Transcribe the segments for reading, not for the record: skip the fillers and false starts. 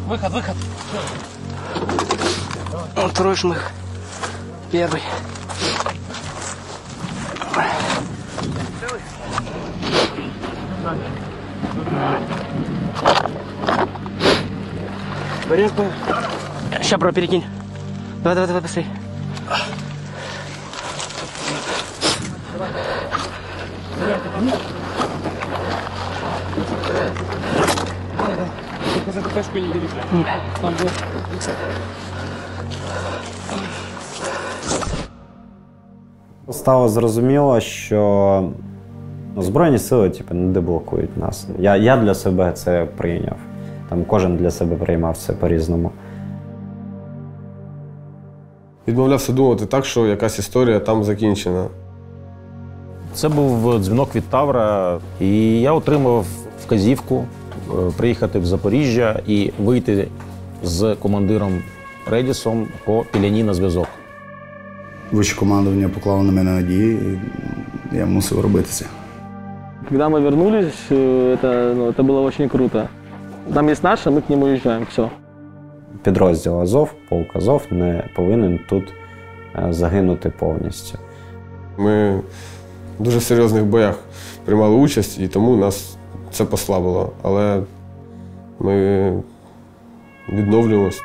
Выход. Второй шмых. Первый. Порядку. Сейчас, бро, перекинь. Давай, быстрей. За КПшку не бери. Там будет. Стало зрозуміло, що Збройні сили не деблокують нас. Я для себе це прийняв. Там кожен для себе приймав це по-різному. Відмовлявся думати так, що якась історія там закінчена. Це був дзвінок від Тавра, і я отримав вказівку приїхати в Запоріжжя і вийти з командиром Редісом по піляні на зв'язок. Вище командування поклало на мене надії, і я мусив робити це. Когда мы вернулись, это было очень круто. Там есть наши, мы к ним уезжаем, все. Підрозділ Азов, полк Азов не повинен тут загинути повністю. Ми в дуже серйозних боях приймали участь, і тому нас це послабило. Але ми відновлюємося.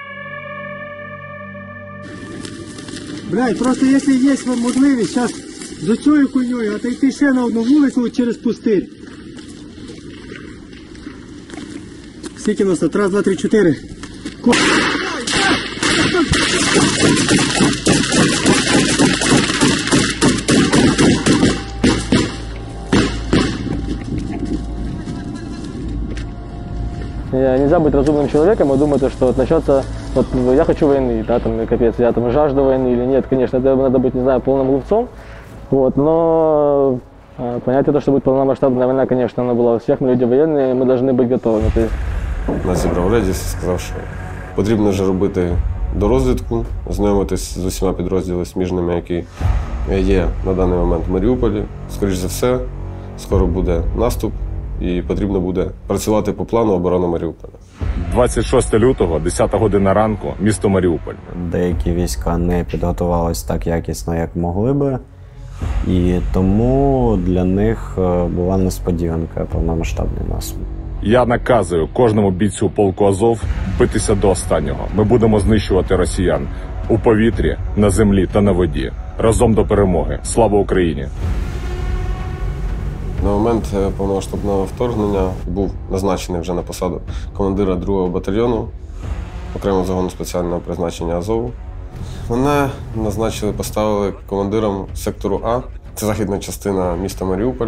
Блядь, просто якщо є можливість зараз за цією хуйньою отойти ще на одну вулицю через пустир. Скільки нас тут? Раз, два, три, чотири. Нельзя быть разумным человеком и думать, что вот начнется, вот я хочу войны, да, там, капец, я там жажду войны или нет, конечно, это надо быть, не знаю, полным глупцом, вот, но понятие то, что будет полномасштабная война, конечно, она была у всех, мы люди военные, мы должны быть готовыми. Нас зібрав Редіс і сказав, що потрібно вже робити дорозвідку, знайомитись з усіма підрозділами сміжними, які є на даний момент в Маріуполі. Скоріше за все, скоро буде наступ. І потрібно буде працювати по плану оборони Маріуполя. 26 лютого, 10 година ранку, місто Маріуполь. Деякі війська не підготувалися так якісно, як могли би. І тому для них була несподіванка повномасштабний наступ. Я наказую кожному бійцю полку Азов битися до останнього. Ми будемо знищувати росіян у повітрі, на землі та на воді. Разом до перемоги. Слава Україні! На момент повномасштабного вторгнення був назначений вже на посаду командира 2-го батальйону окремого загону спеціального призначення Азову. Мене назначили, поставили командиром сектору А. Це західна частина міста Маріуполь.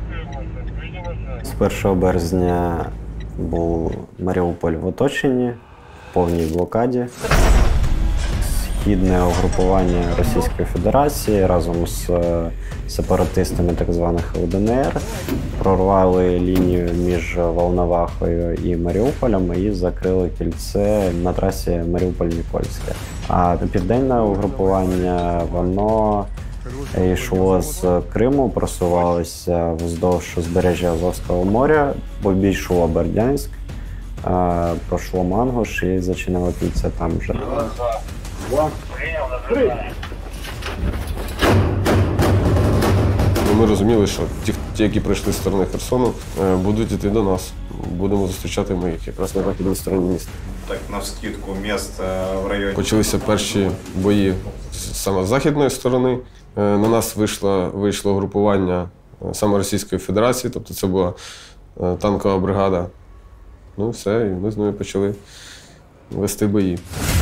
З 1 березня був Маріуполь в оточенні, в повній блокаді. Східне угрупування Російської Федерації разом з сепаратистами так званих ЛДНР прорвали лінію між Волновахою і Маріуполем і закрили кільце на трасі Маріуполь-Нікольське. А південне угрупування, воно йшло з Криму, просувалося вздовж узбережжя Азовського моря, обійшло Бердянськ, пройшло Мангуш і зачинило кільце там вже. Ми розуміли, що ті, які прийшли з сторони Херсону, будуть йти до нас. Будемо зустрічати ми їх якраз на західній стороні міста. Так, навскидку, міст в районі. Почалися перші бої саме з західної сторони. На нас вийшло групування саме Російської Федерації, тобто це була танкова бригада. Ну все, і ми з ними почали вести бої.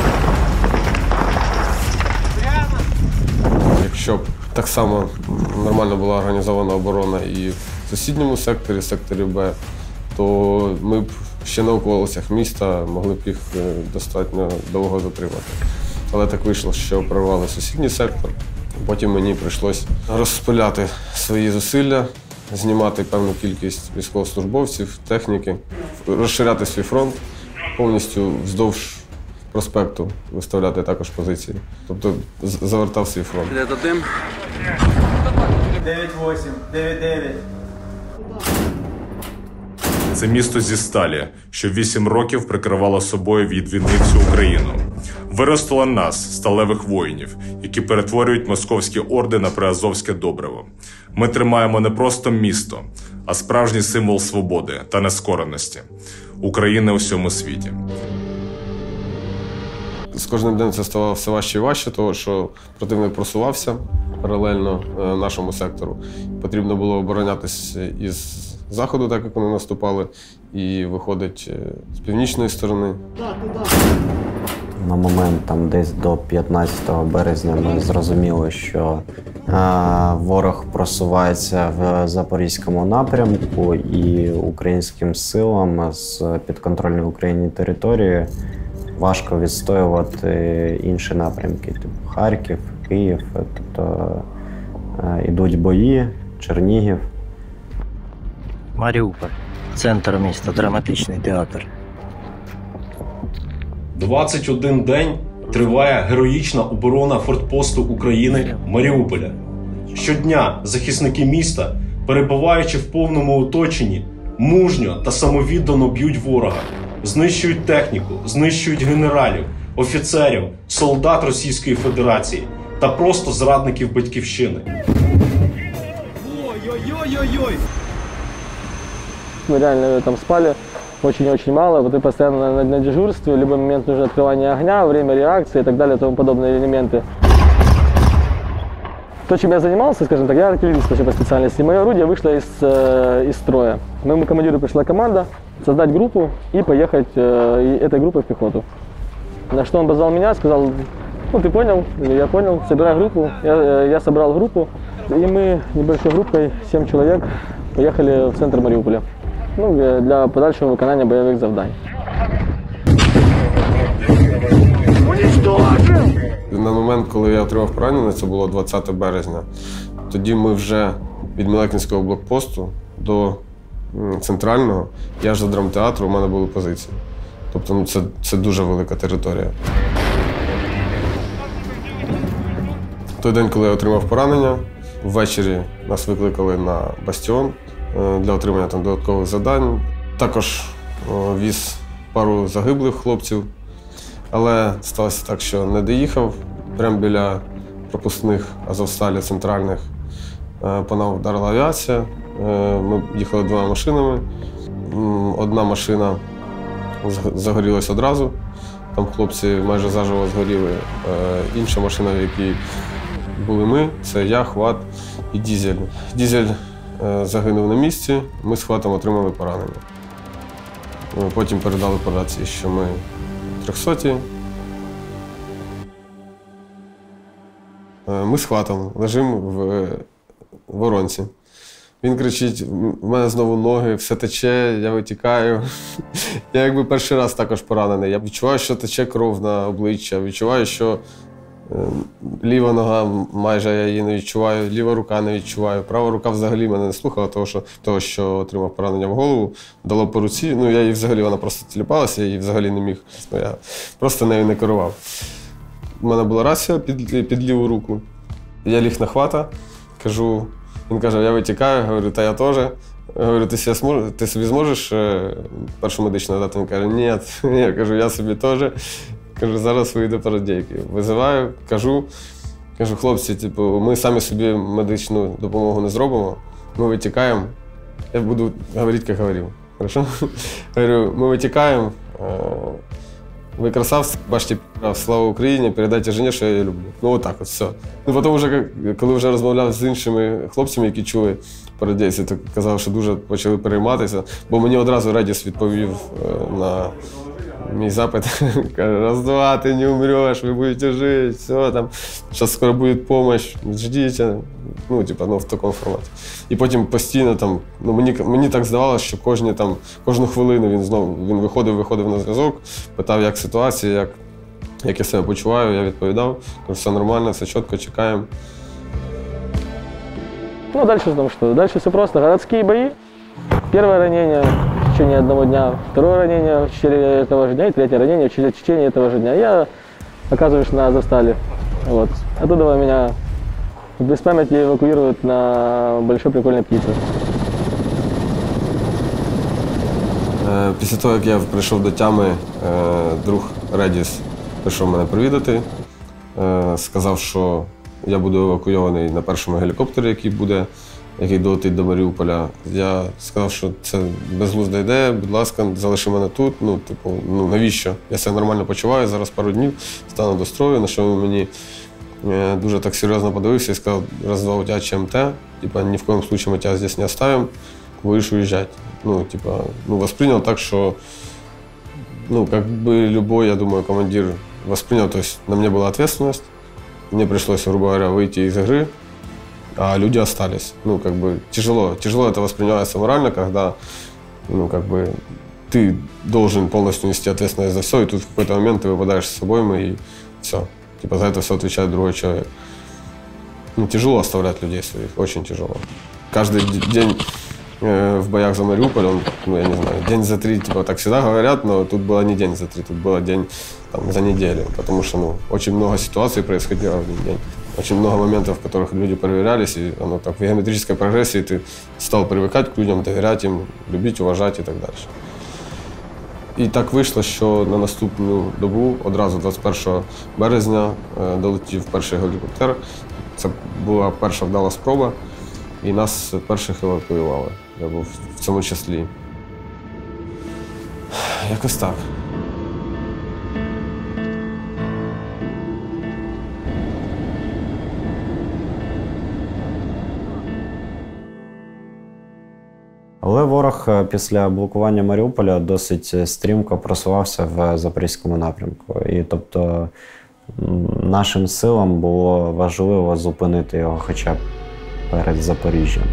Якщо б так само нормально була організована оборона і в сусідньому секторі Б, то ми б ще на околицях міста могли б їх достатньо довго затримати. Але так вийшло, що прорвали сусідній сектор. Потім мені прийшлося розпиляти свої зусилля, знімати певну кількість військовослужбовців, техніки, розширяти свій фронт, повністю вздовж проспекту виставляти також позиції. Тобто завертав свій фронт. Де дим? 9-8, 9-9. Це місто зі сталі, що 8 років прикривало собою від війни всю Україну. Виростило нас, сталевих воїнів, які перетворюють московські орди на приазовське добриво. Ми тримаємо не просто місто, а справжній символ свободи та нескореності України у всьому світі. З кожним днем це ставало все важче і важче, тому що противник просувався паралельно нашому сектору. Потрібно було оборонятися із заходу, так як вони наступали, і виходить з північної сторони. На момент там десь до 15 березня ми зрозуміли, що ворог просувається в Запорізькому напрямку, і українським силам з підконтрольної Україні території важко відстоювати інші напрямки, типу Харків, Київ, тобто ідуть бої, Чернігів. Маріуполь. Центр міста, драматичний театр. 21 день триває героїчна оборона фортпосту України Маріуполя. Щодня захисники міста, перебуваючи в повному оточенні, мужньо та самовіддано б'ють ворога, знищують техніку, знищують генералів, офіцерів, солдат Російської Федерації та просто зрадників батьківщини. Ой-ой-ой-ой-ой! Мы реально там спали очень-очень мало, вот ты постоянно на дежурстве, в любой момент нужно открывание огня, время реакции и так далее, и тому подобные элементы. То, чем я занимался, скажем так, я артиллерист вообще по специальности. Мое орудие вышло из строя. Моему командиру пришла команда создать группу и поехать этой группой в пехоту. На что он позвал меня, сказал: ну ты понял, или я понял, собирай группу. Я собрал группу, и мы небольшой группой, 7 человек, поехали в центр Маріуполя. Ну, для подальшого виконання бойових завдань. На момент, коли я отримав поранення, це було 20 березня, тоді ми вже від Милекінського блокпосту до центрального, я ж за драмтеатру, у мене були позиції. Тобто ну, це дуже велика територія. В той день, коли я отримав поранення, ввечері нас викликали на бастіон для отримання там додаткових завдань. Також віз пару загиблих хлопців, але сталося так, що не доїхав. Прямо біля пропускних Азовсталі центральних по нам вдарила авіація. Ми їхали 2 машинами. Одна машина загорілась одразу, там хлопці майже заживо згоріли. Інша машина, в якій були ми, це я, Хват і Дізель. Дізель загинув на місці, ми з Хватом отримали поранення. Потім передали по рації, що ми 300-ті. Ми з Хватом лежимо в воронці. Він кричить: у мене знову ноги, все тече, я витікаю. Я якби перший раз також поранений. Я відчуваю, що тече кров на обличчя, відчуваю, що ліва нога, майже я її не відчуваю, ліва рука не відчуваю. Права рука взагалі мене не слухала, того, що отримав поранення в голову, дало по руці. Ну, я її взагалі, вона просто тіліпалася, я її взагалі не міг. Я просто нею не керував. У мене була рація під ліву руку. Я ліг на Хвата, кажу, він каже: я витікаю, говорю, та я теж. Говорю, ти собі зможеш першу медичну надати? Він каже: ні. Я кажу, я собі теж. Кажу, зараз вийду парадійки. Визиваю, кажу, хлопці, типу, ми самі собі медичну допомогу не зробимо, ми витікаємо. Я буду говорити, як говорив. Хорошо? Говорю, ми витікаємо, ви красавці, бачите, слава Україні, передайте жені, що я її люблю. Ну, отак от, все. Ну, потім, вже, коли вже розмовляв з іншими хлопцями, які чули парадійці, то казав, що дуже почали перейматися, бо мені одразу Редіс відповів на мій запит. Каже: раз-два, ти не умреш, ви будете жити, все, там, зараз скоро буде допомога, ждіть. Ну, типу, ну, в такому форматі. І потім постійно, там, ну, мені так здавалося, що кожну хвилину він виходив на зв'язок, питав, як ситуація, як я себе почуваю, я відповідав, кажу, все нормально, все чітко, чекаємо. Ну, дальше там что? Дальше все просто. Городские бои. Первое ранение в течение одного дня, второе ранение в течение этого же дня и третье ранение в течение этого же дня. Я оказываюсь на Азовстале. Вот. Оттуда меня без памяти эвакуируют на Большой Прикольной Птице. Після того, як я прийшов до тями, друг Редіс прийшов мене привідати. Сказав, що я буду евакуйований на першому гелікоптері, який долетить до Маріуполя. Я сказав, що це безглузда ідея, будь ласка, залиши мене тут. Навіщо? Я себе нормально почуваю, зараз пару днів стану до строю, на що він мені дуже так серйозно подивився і сказав, раз-два, у тебе ЧМТ, ні в коем случае мы тебя здесь не оставим, будешь уезжать. Воспринял так, что, как бы любой, я думаю, командир воспринял, то есть на мне была ответственность, мне пришлось, грубо говоря, выйти из игры, а люди остались. Тяжело это воспринимается морально, когда, ты должен полностью нести ответственность за все, и тут в какой-то момент ты выпадаешь с обоймы, и все. За это все отвечает другой человек. Тяжело оставлять людей своих, очень тяжело. Каждый день в боях за Мариуполь, я не знаю, день за 3, так всегда говорят, но тут было не день за 3, тут было день за неделю, потому что, очень много ситуаций происходило в один день. Очень много моментов, в которых люди проверялись, и оно так в геометрической прогрессии ты стал привыкать к людям, доверять им, любить, уважать и так дальше. І так вийшло, що на наступну добу, одразу 21 березня, долетів перший гелікоптер. Це була перша вдала спроба, і нас перших евакуювали. Я був в цьому числі. Якось так. Але ворог після блокування Маріуполя досить стрімко просувався в Запорізькому напрямку. І тобто нашим силам було важливо зупинити його хоча б перед Запоріжжям.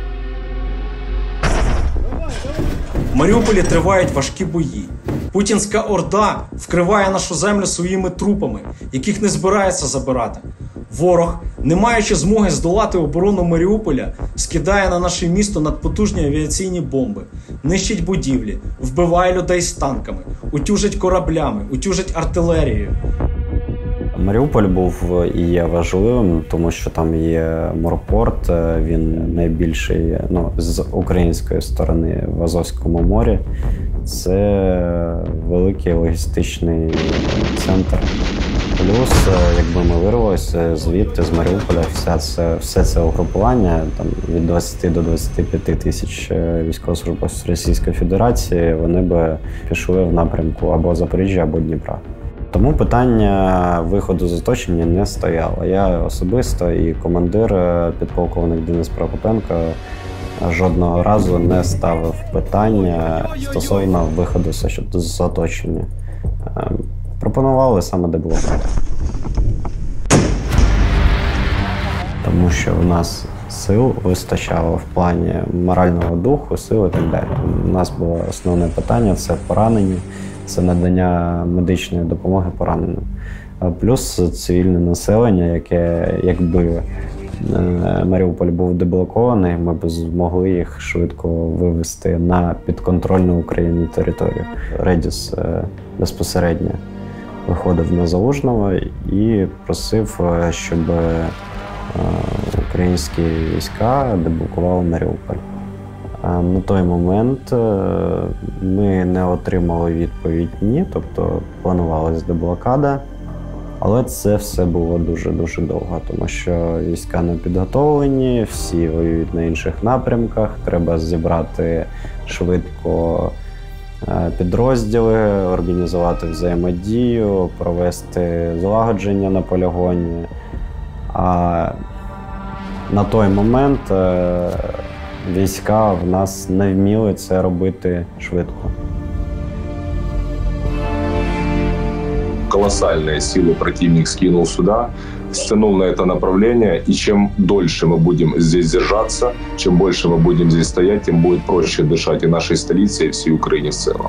В Маріуполі тривають важкі бої. Путінська орда вкриває нашу землю своїми трупами, яких не збирається забирати. Ворог, не маючи змоги здолати оборону Маріуполя, скидає на наше місто надпотужні авіаційні бомби, нищить будівлі, вбиває людей з танками, утюжить кораблями, утюжить артилерією. Маріуполь був і є важливим, тому що там є морпорт, він найбільший з української сторони в Азовському морі. Це великий логістичний центр. Плюс, якби ми вирвалися звідти, з Маріуполя, все це угрупування, від 20 до 25 тисяч військовослужбовців Російської Федерації, вони би пішли в напрямку або Запоріжжя, або Дніпра. Тому питання виходу з оточення не стояло. Я особисто і командир, підполковник Денис Прокопенко, жодного разу не ставив питання стосовно виходу з оточення. Пропонували саме деблокаду. Тому що в нас сил вистачало в плані морального духу, сил і так далі. У нас було основне питання – це поранені, це надання медичної допомоги пораненим. Плюс цивільне населення, яке, якби Маріуполь був деблокований, ми б змогли їх швидко вивести на підконтрольну Україні територію. Редіс безпосередньо виходив на Залужного і просив, щоб українські війська деблокували Маріуполь. На той момент ми не отримали відповідь «ні», тобто планувалась деблокада, але це все було дуже-дуже довго, тому що війська не підготовлені, всі воюють на інших напрямках, треба зібрати швидко підрозділи, організувати взаємодію, провести злагодження на полігоні. А на той момент війська в нас не вміли це робити швидко. Колоссальные силы противник скинул сюда, стянул на это направление, и чем дольше мы будем здесь держаться, чем больше мы будем здесь стоять, тем будет проще дышать и нашей столице, и всей Украине в целом.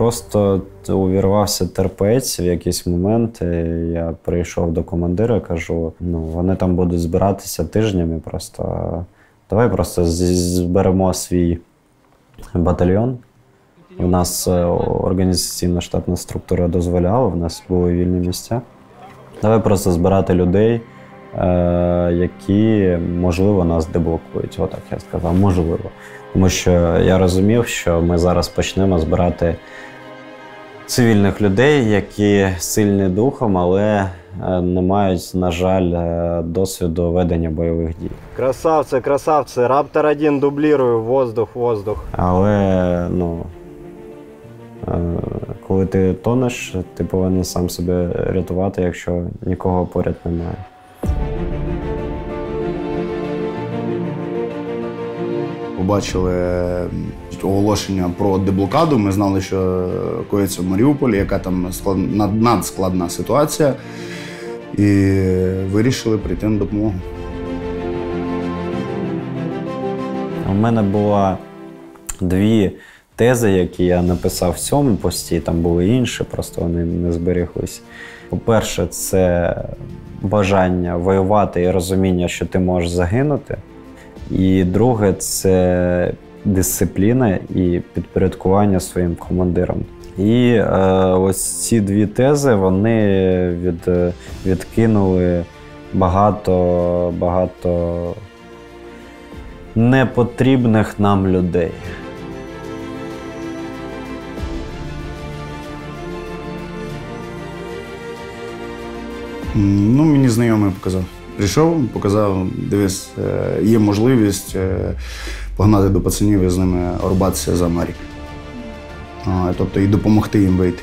Просто увірвався терпець в якийсь момент. Я прийшов до командира, кажу, вони там будуть збиратися тижнями просто. Давай просто зберемо свій батальйон. У нас організаційна штатна структура дозволяла, в нас були вільні місця. Давай просто збирати людей, які, можливо, нас деблокують. Отак я сказав, можливо. Тому що я розумів, що ми зараз почнемо збирати цивільних людей, які сильні духом, але не мають, на жаль, досвіду ведення бойових дій. Красавці, красавці, Раптор-1 дублірую, воздух. Але, коли ти тонеш, ти повинен сам себе рятувати, якщо нікого поряд немає. Побачили оголошення про деблокаду, ми знали, що коїться в Маріуполі, яка там надскладна ситуація, і вирішили прийти на допомогу. У мене було 2 тези, які я написав в цьому пості, там були інші, просто вони не зберіглись. По-перше, це бажання воювати і розуміння, що ти можеш загинути. І друге, це дисципліна і підпорядкування своїм командирам. І ось ці 2 тези, вони відкинули багато непотрібних нам людей. Мені знайомий показав. Прийшов, показав, дивись, є можливість погнати до пацанів і з ними рубатися за Марік. Тобто і допомогти їм вийти.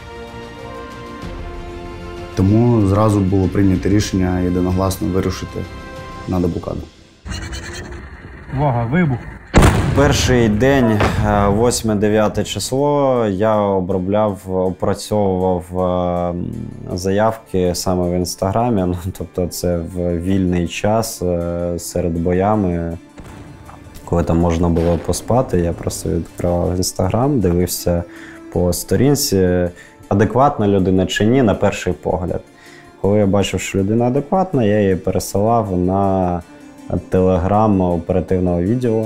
Тому зразу було прийнято рішення єдиногласно вирушити на деблокаду. Увага, вибух! Перший день, 8-9 число, я опрацьовував заявки саме в Інстаграмі. Тобто це в вільний час серед боями, коли там можна було поспати. Я просто відкривав Інстаграм, дивився по сторінці, адекватна людина чи ні, на перший погляд. Коли я бачив, що людина адекватна, я її пересилав на телеграм оперативного відділу.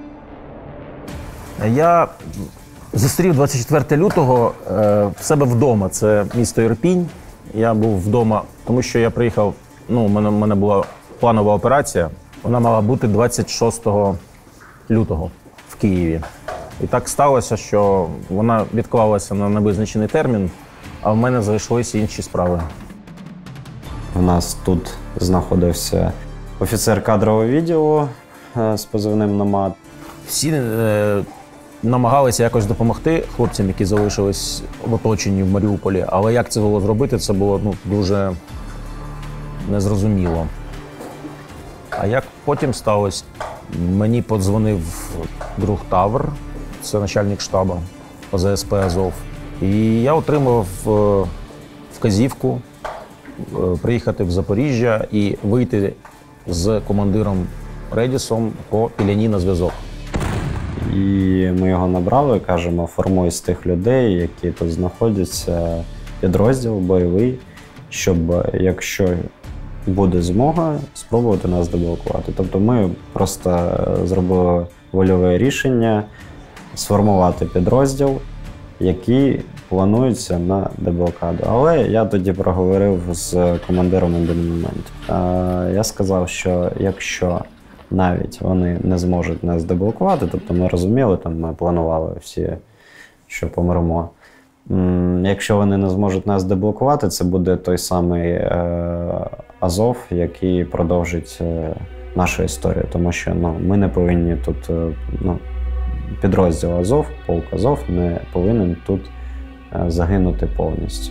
Я зустрів 24 лютого в себе вдома. Це місто Ірпінь. Я був вдома, тому що я приїхав, у мене була планова операція. Вона мала бути 26 лютого в Києві. І так сталося, що вона відклалася на невизначений термін, а в мене зайшлися інші справи. У нас тут знаходився офіцер кадрового відділу з позивним «Номад». Всі намагалися якось допомогти хлопцям, які залишились в оточенні в Маріуполі, але як це було зробити, це було дуже незрозуміло. А як потім сталося, мені подзвонив друг Тавр, це начальник штабу ОЗСП «Азов», і я отримав вказівку приїхати в Запоріжжя і вийти з командиром Редісом по Піляні на зв'язок. І ми його набрали, кажемо, формуй з тих людей, які тут знаходяться, підрозділ бойовий, щоб, якщо буде змога, спробувати нас деблокувати. Тобто ми просто зробили вольове рішення сформувати підрозділ, який планується на деблокаду. Але я тоді проговорив з командиром один момент. Я сказав, що якщо навіть вони не зможуть нас деблокувати, тобто ми розуміли, ми планували всі, що помремо. Якщо вони не зможуть нас деблокувати, це буде той самий Азов, який продовжить нашу історію. Тому що ми не повинні тут, підрозділ Азов, полк Азов не повинен тут загинути повністю.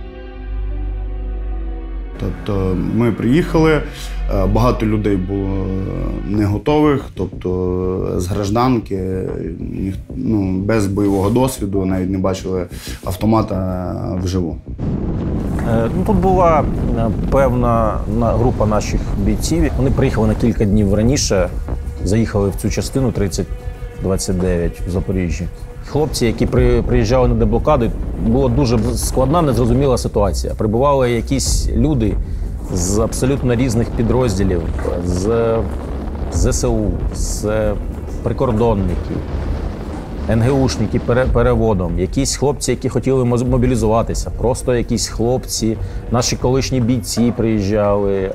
Тобто ми приїхали, багато людей було не готових, тобто з гражданки, без бойового досвіду, навіть не бачили автомата вживу. Тут була певна група наших бійців. Вони приїхали на кілька днів раніше, заїхали в цю частину 3029 в Запоріжжі. Хлопці, які приїжджали на деблокаду, була дуже складна, незрозуміла ситуація. Прибували якісь люди з абсолютно різних підрозділів, з ЗСУ, з прикордонників, НГУшники переводом, якісь хлопці, які хотіли мобілізуватися, просто якісь хлопці, наші колишні бійці приїжджали,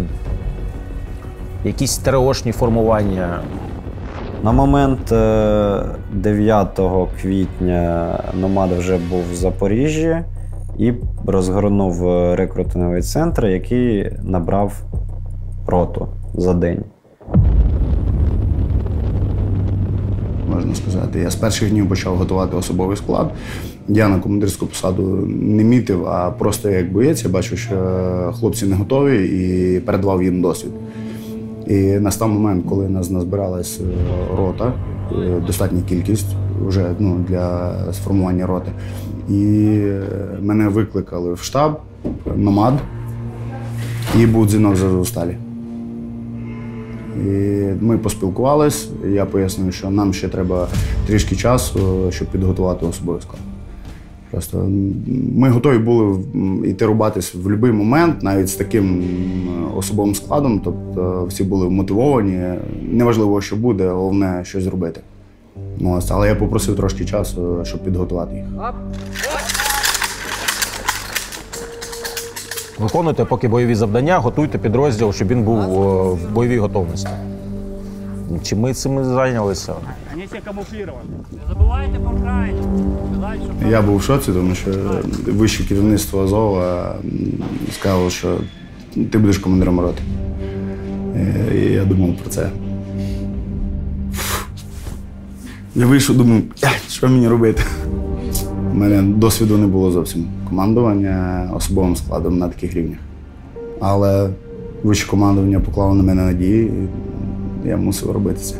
якісь ТРОшні формування. На момент 9 квітня Номад вже був в Запоріжжі і розгорнув рекрутинговий центр, який набрав роту за день. Можна сказати, я з перших днів почав готувати особовий склад. Я на командирську посаду не мітив, а просто як боєць, я бачив, що хлопці не готові, і передавав їм досвід. І настав момент, коли нас назбиралась рота, достатня кількість вже для сформування роти. І мене викликали в штаб Номад, і був дзвінок з Азовсталі. І ми поспілкувались, я пояснив, що нам ще треба трішки часу, щоб підготувати особовий склад. Просто ми готові були йти рубатись в будь-який момент, навіть з таким особовим складом. Тобто всі були мотивовані, неважливо, що буде, головне щось зробити. Але я попросив трошки часу, щоб підготувати їх. Виконуйте поки бойові завдання, готуйте підрозділ, щоб він був в бойовій готовності. Чи ми цим зайнялися? Вони всі камуфліровані. Не забувайте про крайні. Я був в шоці, тому що вище керівництво Азова сказало, що ти будеш командиром роти. І я думав про це. Я вийшов, думав, що мені робити. У мене досвіду не було зовсім командування особовим складом на таких рівнях. Але вище командування поклало на мене надії, і я мусив робити це.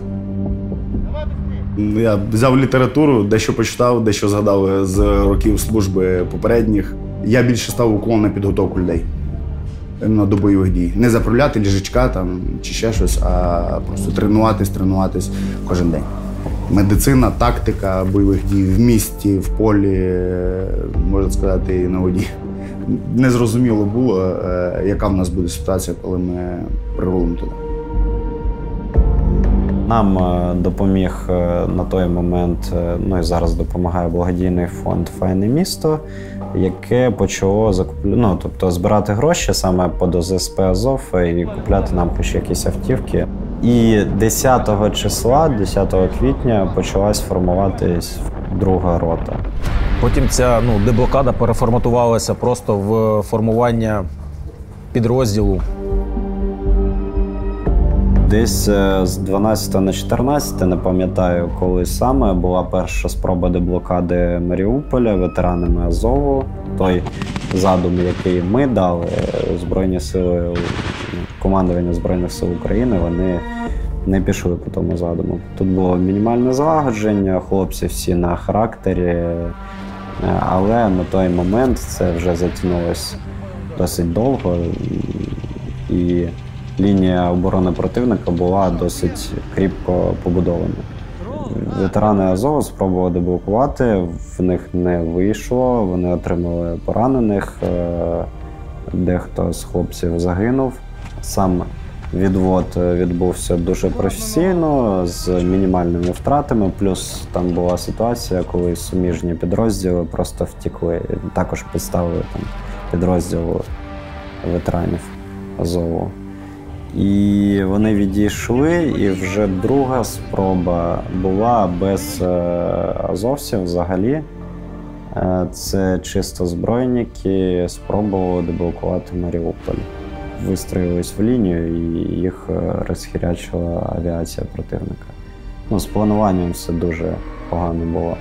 Я взяв літературу, дещо почитав, дещо згадав з років служби попередніх. Я більше став уклон на підготовку людей до бойових дій. Не заправляти ліжачка чи ще щось, а просто тренуватись кожен день. Медицина, тактика бойових дій в місті, в полі, можна сказати, і на воді. Незрозуміло було, яка в нас буде ситуація, коли ми прирулимо туди. Нам допоміг на той момент, і зараз допомагає благодійний фонд «Файне місто», яке почало збирати гроші саме під ОЗСП Азов і купляти нам хоч якісь автівки. І 10 числа, 10 квітня, почалась формуватись друга рота. Потім ця деблокада переформатувалася просто в формування підрозділу. Десь з 12 на 14, не пам'ятаю, коли саме, була перша спроба деблокади Маріуполя ветеранами Азову. Той задум, який ми дали, Збройні сили, командування Збройних сил України, вони не пішли по тому задуму. Тут було мінімальне злагодження, хлопці всі на характері, але на той момент це вже затягнулося досить довго, і лінія оборони противника була досить кріпко побудована. Ветерани Азову спробували деблокувати, в них не вийшло, вони отримали поранених, дехто з хлопців загинув. Сам відвод відбувся дуже професійно, з мінімальними втратами, плюс там була ситуація, коли суміжні підрозділи просто втекли. Також підставили підрозділ ветеранів Азову. І вони відійшли, і вже друга спроба була без азовців взагалі. Це чисто збройники спробували деблокувати Маріуполь. Вистроїлись в лінію, і їх розхірячила авіація противника. З плануванням все дуже погано було.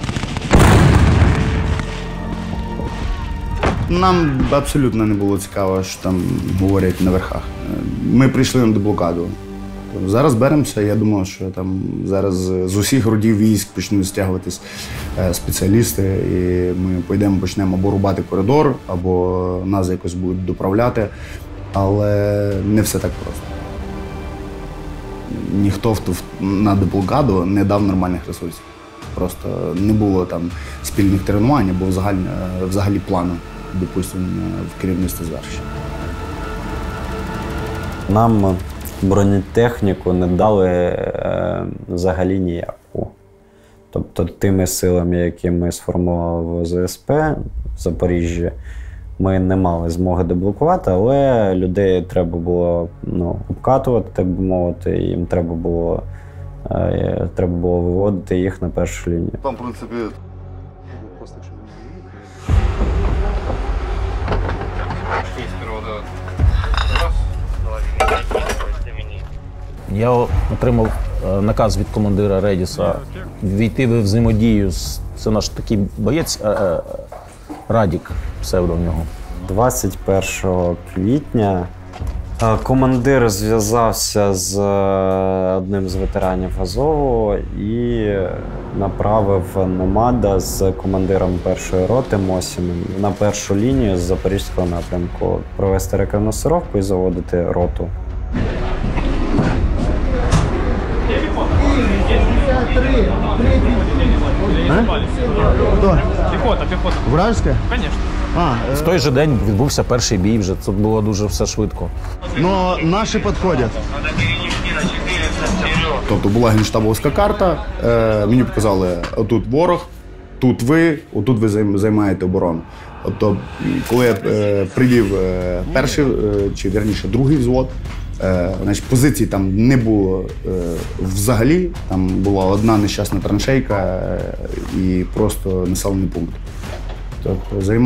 Нам абсолютно не було цікаво, що там говорять на верхах. Ми прийшли на деблокаду. Зараз беремося, я думав, що там зараз з усіх родів військ почнуть стягуватись спеціалісти, і ми почнемо або рубати коридор, або нас якось будуть доправляти. Але не все так просто. Ніхто на деблокаду не дав нормальних ресурсів. Просто не було там спільних тренувань, або взагалі плану, допустимо, в керівництві звершення. Нам бронетехніку не дали взагалі ніяку. Тобто тими силами, які ми сформували в ЗСП в Запоріжжі, ми не мали змоги деблокувати, але людей треба було обкатувати, так би мовити, і їм треба було виводити їх на першу лінію. Там, в принципі, Я отримав наказ від командира Редіса війти в взаємодію це наш такий боєць Радік, псевдо в нього. 21 квітня командир зв'язався з одним з ветеранів Азову і направив Номада з командиром першої роти Мосіним на першу лінію з запорізького напрямку провести рекогносцировку і заводити роту. Пехота. Вражеская? Конечно. В той же день відбувся перший бій, вже це було дуже все швидко. Но наші підходять. Тобто була генштабовська карта, мені показали, отут ворог, тут ви, отут ви займаєте оборону. Тобто, коли я привів перший, чи вірніше другий взвод, значить, позицій там не було взагалі, там була одна нещасна траншейка і просто населений пункт. Тобто,